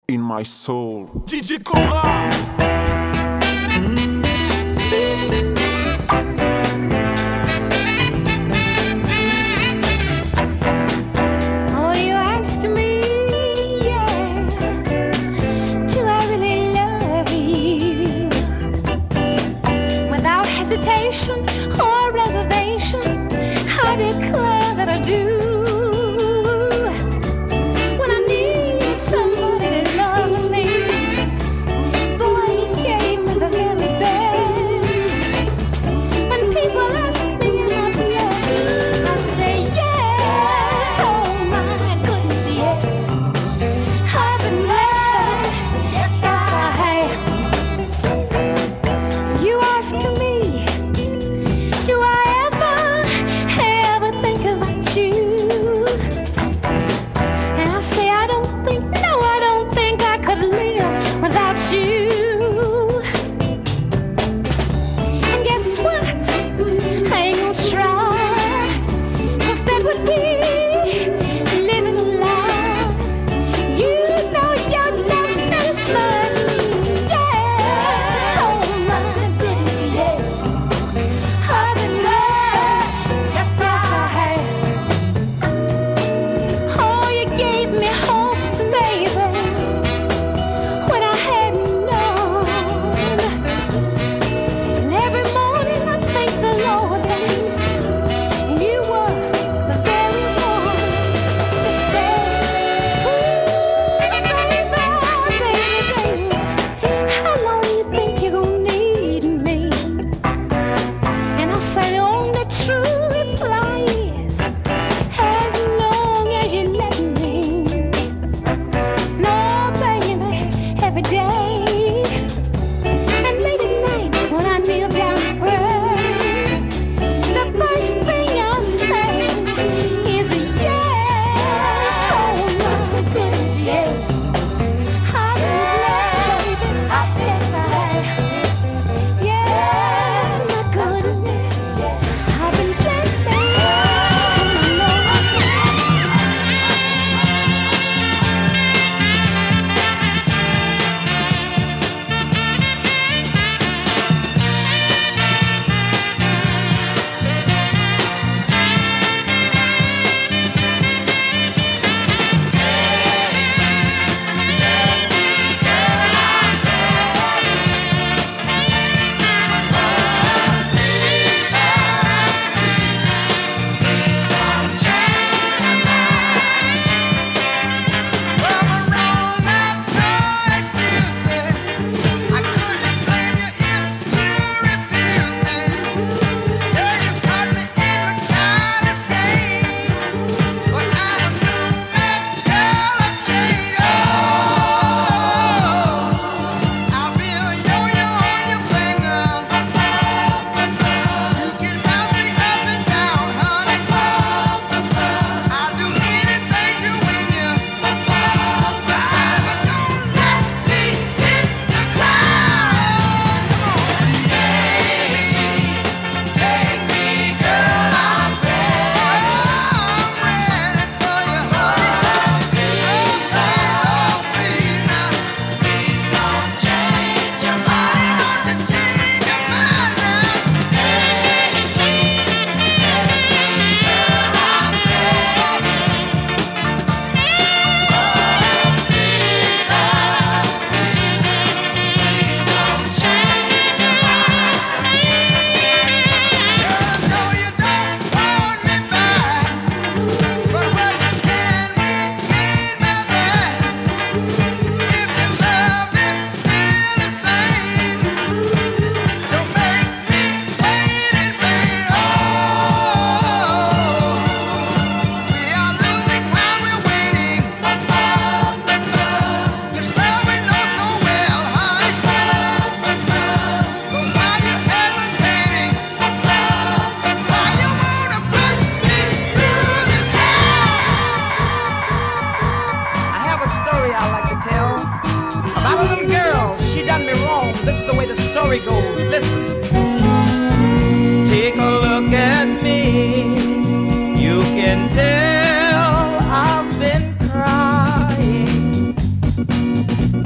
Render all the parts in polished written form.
in my soul. DJ Cora. Oh, you ask me, yeah, do I really love you? Without hesitation or reservation, I declare that I do. When I need somebody to love me, boy,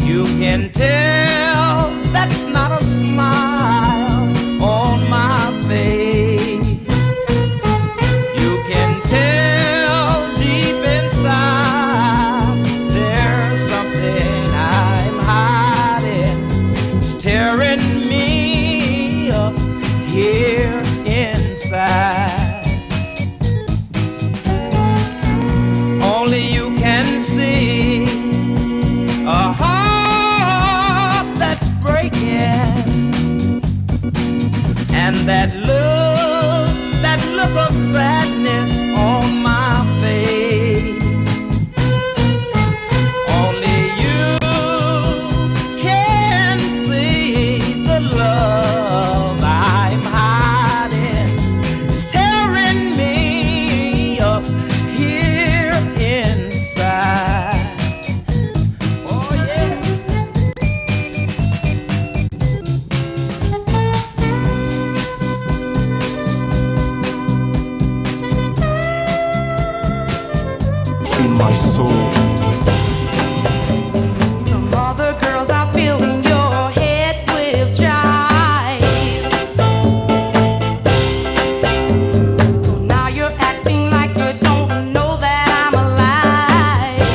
You can tell that's not a smile on my face. You can tell deep inside there's something I'm hiding. It's tearing me up here inside. Only you can see a heart that's breaking, and that look of sadness on my face. Only you can see the love I'm hiding. It's tearing me up here inside. Oh yeah. In my soul. Some other girls are filling your head with jive. So now you're acting like you don't know that I'm alive.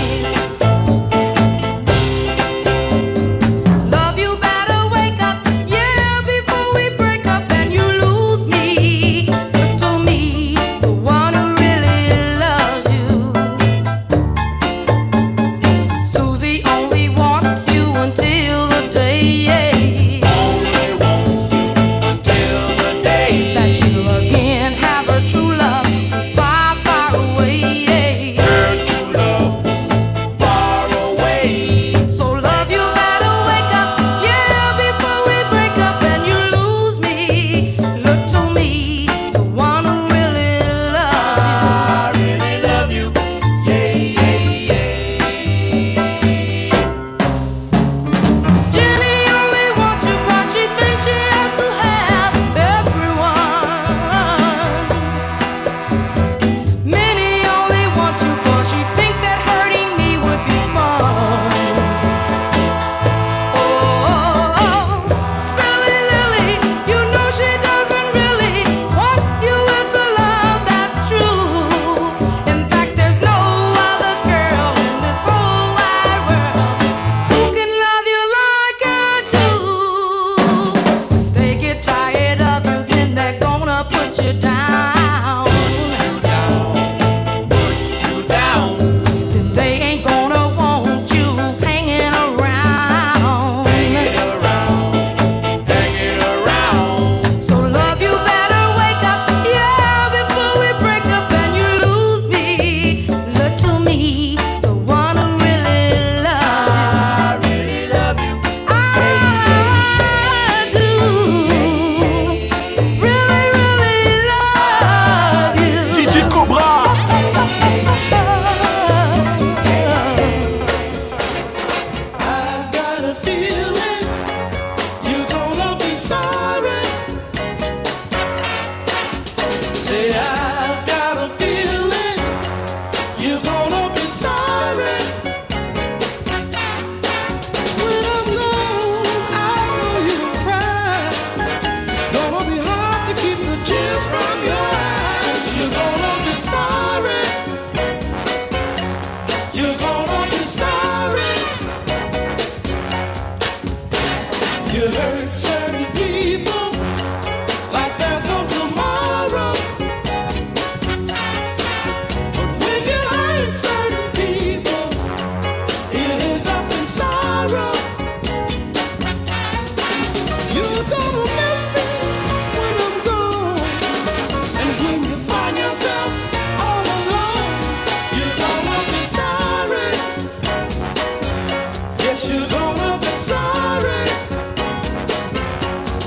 Love, you better wake up, yeah, before we break up and you lose me. Look to me, the one who really loves you. Susie only wants you until the day, that she'll again have her true love who's far, far away. So love, you better wake up, yeah, before we break up and you lose me. Look to me, the one who really loves you. Jenny only wants you 'cause she thinks she has to have everyone. Minnie only wants you 'cause she thinks that hurting me would be fun. Oh, silly Lily, you know she doesn't really want you with the love that's true. In fact, there's no other girl in this whole wide world who can love you like I do. They get tired of you, then they're gonna put you down. Then they ain't gonna want you hanging around. So love, you better wake up, yeah, before we break up and you lose me. Look to me, the one who really loves you. I do really, really love you. DJ Cobra. I've got a feeling you're gonna be sorry. Say, I've got a feeling you're gonna be sorry. When I'm gone, I know you'll cry. It's gonna be hard to keep the tears from your eyes. You're gonna be sorry. You're gonna be sorry. You hurt certain people like there's no tomorrow. But when you hurt certain people, it ends up in sorrow. You're gonna miss me when I'm gone. And when you find yourself all alone, you're gonna be sorry. Yes, you're gonna be sorry.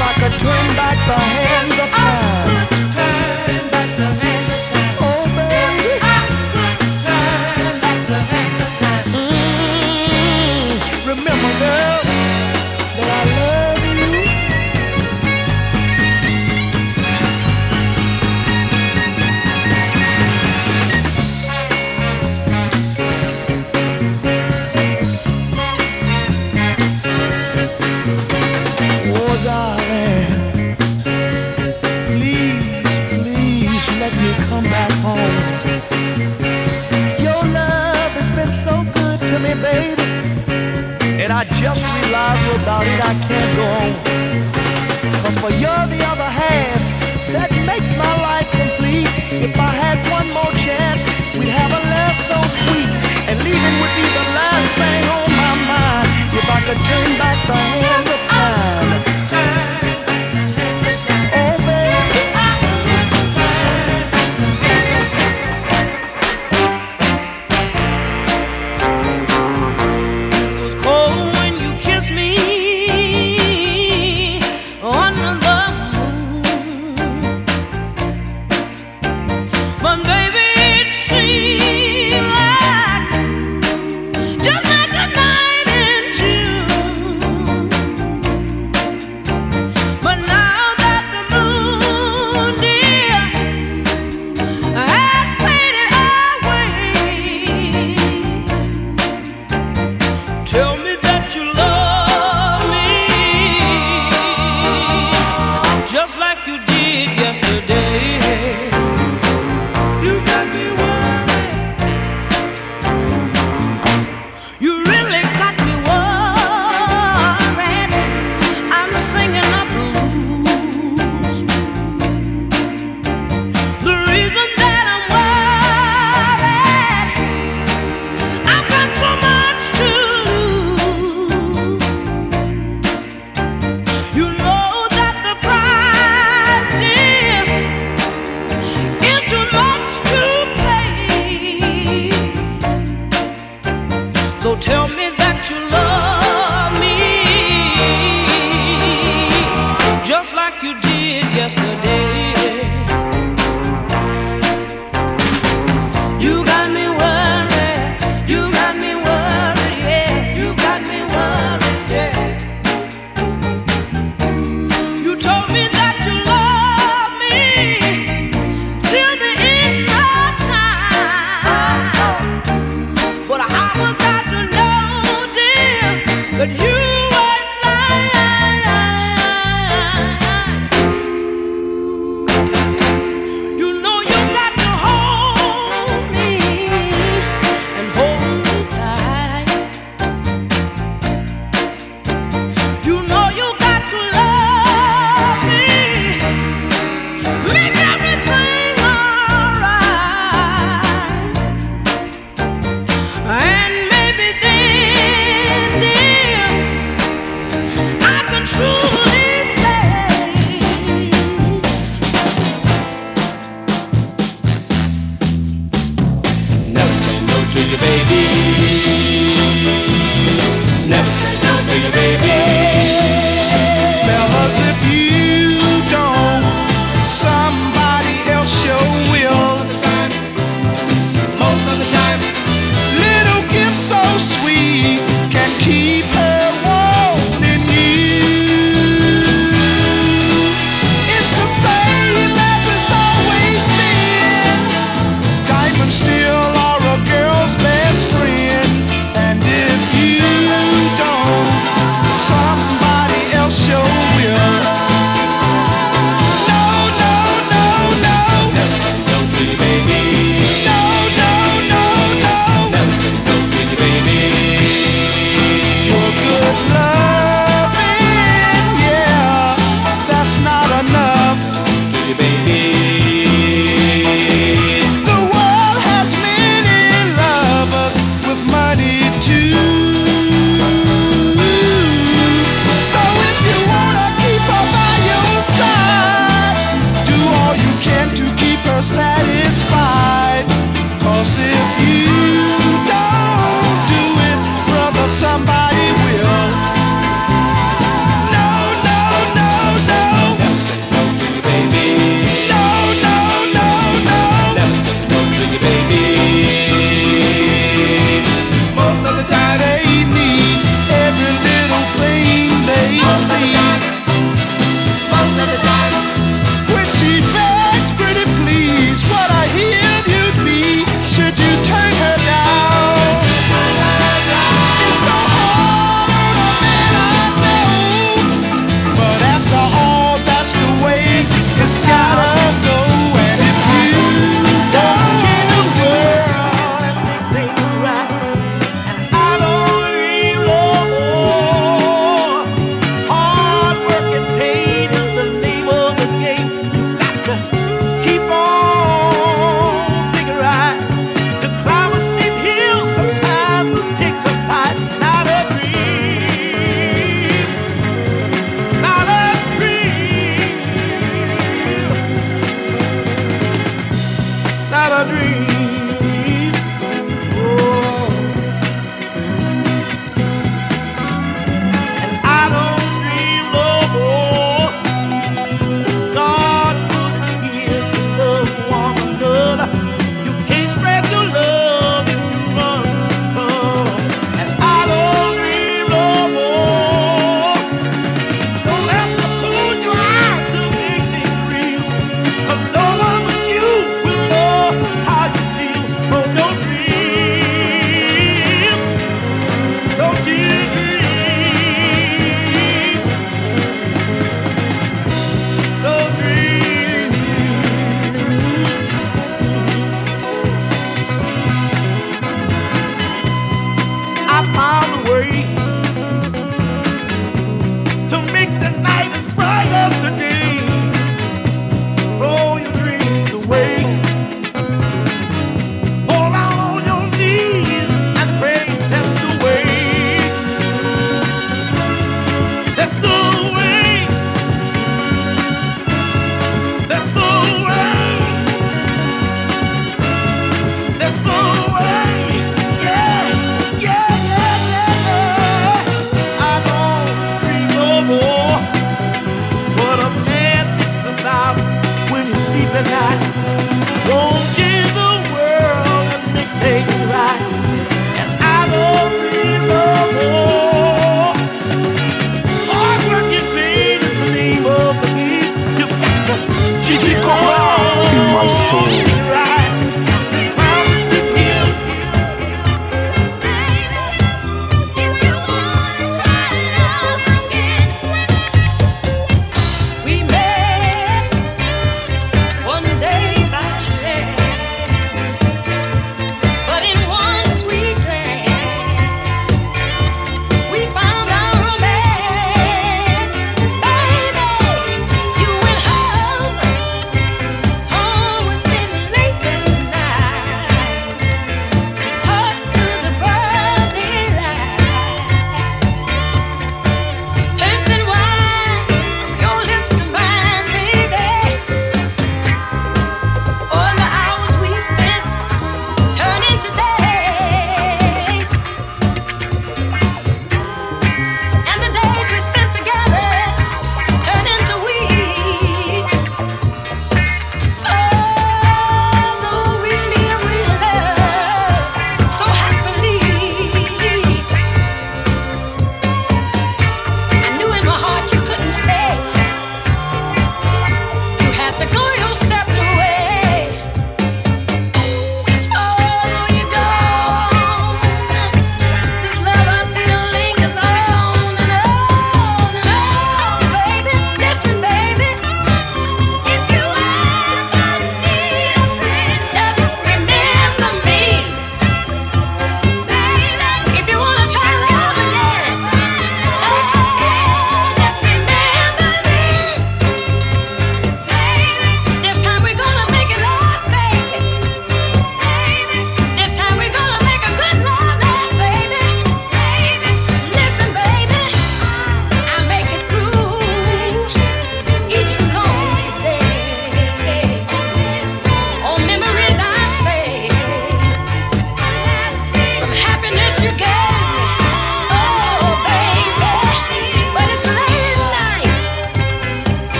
I could turn back the hands of time. Turn back the hands of time. Oh, baby. I could turn back the hands of time. Remember, girl, that I love you. Oh, darling, please, please let me come back home. Your love has been so good to me, baby, and I just realized without it I can't go on. 'Cause for you're the other half that makes my life complete. If I had one more chance, we'd have a love so sweet, and leaving would be the last thing on my mind. If I could turn back the hand of time. Oh, baby. It was cold when you kissed me under the moon, but baby, it seemed like just like a night in June. But now that the moon, dear, has faded away, tell me that you love me just like you did yesterday. You got me worried. You really got me worried. I'm singing the blues. The reason that I'm worried, I've got so much to lose. You know that the price, dear, is too much to pay. So tell me that you love me just like you did yesterday. You got me worried, you got me worried, yeah. You got me worried, yeah. You told me that you love me till the end of time, but I was got to know, dear, that you weren't lying.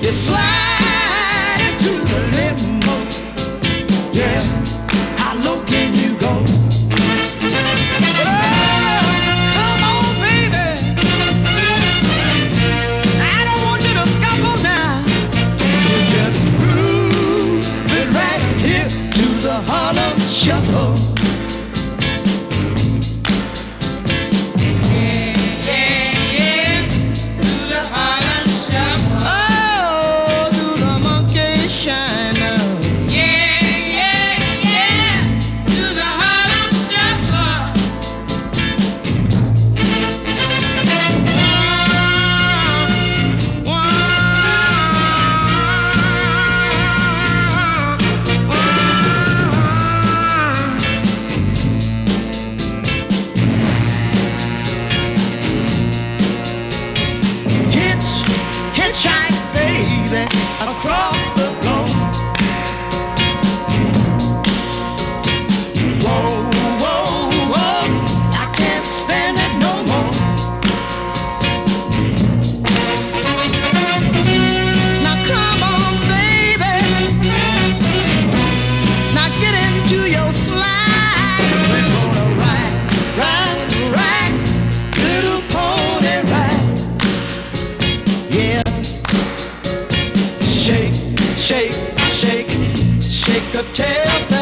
You slide into the limo. Yeah, how low can you go? Oh, come on, baby. I don't want you to scuffle now. You just groove it right here to the Harlem Shuffle. Hitchhike, baby, across the floor. Whoa, whoa, whoa, I can't stand it no more. Now come on, baby. Now get into your slide. We're gonna ride, ride, ride, little pony ride. Yeah. Shake, shake, shake, shake a tail.